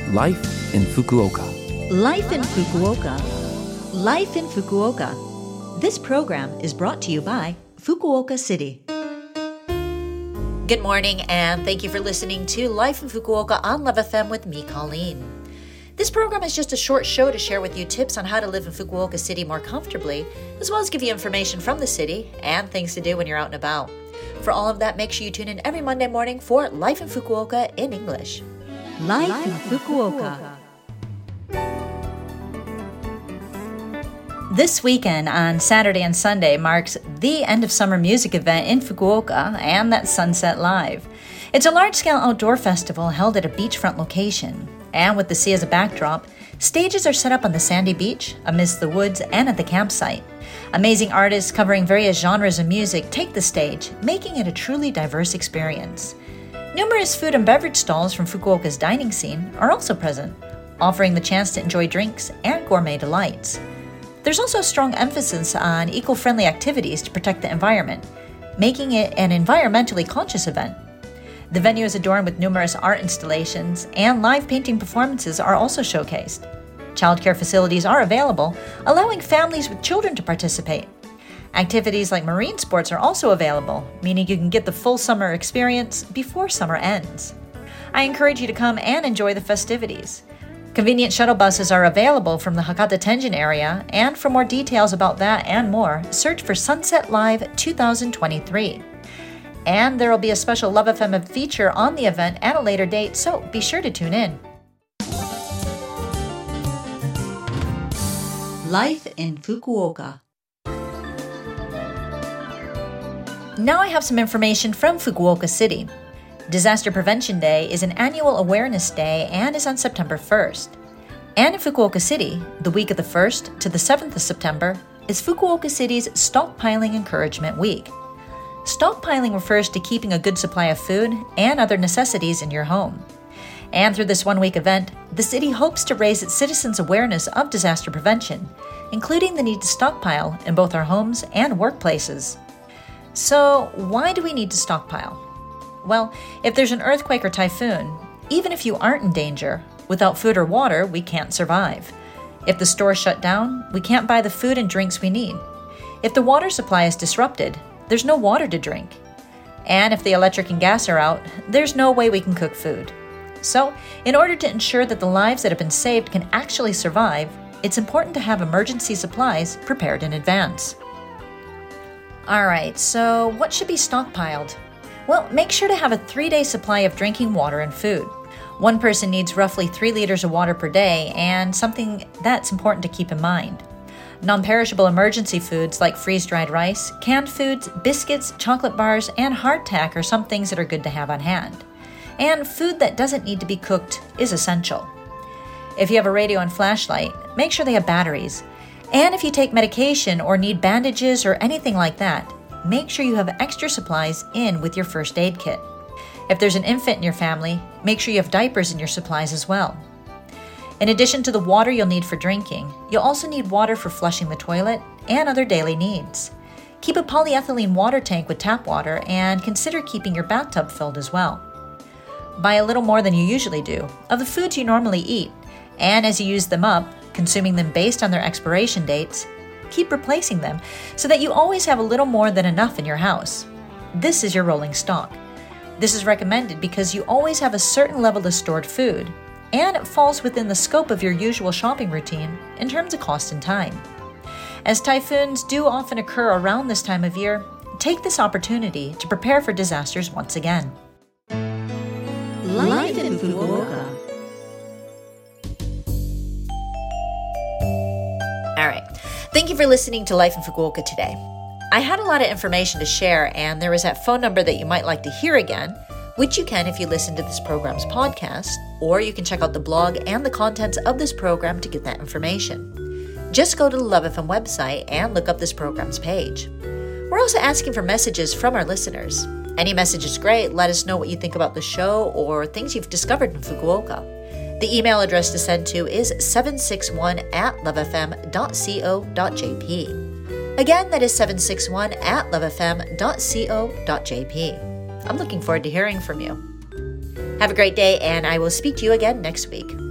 Life in Fukuoka. Life in Fukuoka. Life in Fukuoka. This program is brought to you by Fukuoka City. Good morning, and thank you for listening to Life in Fukuoka on Love FM with me, Colleen. This program is just a short show to share with you tips on how to live in Fukuoka City more comfortably, as well as give you information from the city and things to do when you're out and about. For all of that, make sure you tune in every Monday morning for Life in Fukuoka in English. Life in Fukuoka. This weekend on Saturday and Sunday marks the end of summer music event in Fukuoka, and that's Sunset Live. It's a large-scale outdoor festival held at a beachfront location, and with the sea as a backdrop, stages are set up on the sandy beach, amidst the woods, and at the campsite. Amazing artists covering various genres of music take the stage, making it a truly diverse experience. Numerous food and beverage stalls from Fukuoka's dining scene are also present, offering the chance to enjoy drinks and gourmet delights. There's also a strong emphasis on eco-friendly activities to protect the environment, making it an environmentally conscious event. The venue is adorned with numerous art installations, and live painting performances are also showcased. Childcare facilities are available, allowing families with children to participate. Activities like marine sports are also available, meaning you can get the full summer experience before summer ends. I encourage you to come and enjoy the festivities. Convenient shuttle buses are available from the Hakata Tenjin area, and for more details about that and more, search for Sunset Live 2023. And there will be a special Love FM feature on the event at a later date, so be sure to tune in. Life in Fukuoka. Now I have some information from Fukuoka City. Disaster Prevention Day is an annual awareness day and is on September 1st. And in Fukuoka City, the week of the 1st to the 7th of September is Fukuoka City's Stockpiling Encouragement Week. Stockpiling refers to keeping a good supply of food and other necessities in your home. And through this one-week event, the city hopes to raise its citizens' awareness of disaster prevention, including the need to stockpile in both our homes and workplaces. So, why do we need to stockpile? Well, if there's an earthquake or typhoon, even if you aren't in danger, without food or water, we can't survive. If the stores shut down, we can't buy the food and drinks we need. If the water supply is disrupted, there's no water to drink. And if the electric and gas are out, there's no way we can cook food. So, in order to ensure that the lives that have been saved can actually survive, it's important to have emergency supplies prepared in advance. Alright, so what should be stockpiled? Well, make sure to have a 3-day supply of drinking water and food. One person needs roughly 3 liters of water per day, and something that's important to keep in mind. Non-perishable emergency foods like freeze-dried rice, canned foods, biscuits, chocolate bars, and hardtack are some things that are good to have on hand. And food that doesn't need to be cooked is essential. If you have a radio and flashlight, make sure they have batteries. And if you take medication or need bandages or anything like that, make sure you have extra supplies in with your first aid kit. If there's an infant in your family, make sure you have diapers in your supplies as well. In addition to the water you'll need for drinking, you'll also need water for flushing the toilet and other daily needs. Keep a polyethylene water tank with tap water and consider keeping your bathtub filled as well. Buy a little more than you usually do of the foods you normally eat, and as you use them up, consuming them based on their expiration dates, keep replacing them so that you always have a little more than enough in your house. This is your rolling stock. This is recommended because you always have a certain level of stored food, and it falls within the scope of your usual shopping routine in terms of cost and time. As typhoons do often occur around this time of year, take this opportunity to prepare for disasters once again. Life in Fukuoka. All right. Thank you for listening to Life in Fukuoka today. I had a lot of information to share, and there is that phone number that you might like to hear again, which you can if you listen to this program's podcast, or you can check out the blog and the contents of this program to get that information. Just go to the Love FM website and look up this program's page. We're also asking for messages from our listeners. Any message is great. Let us know what you think about the show or things you've discovered in Fukuoka. The email address to send to is 761@lovefm.co.jp. Again, that is 761@lovefm.co.jp. I'm looking forward to hearing from you. Have a great day, and I will speak to you again next week.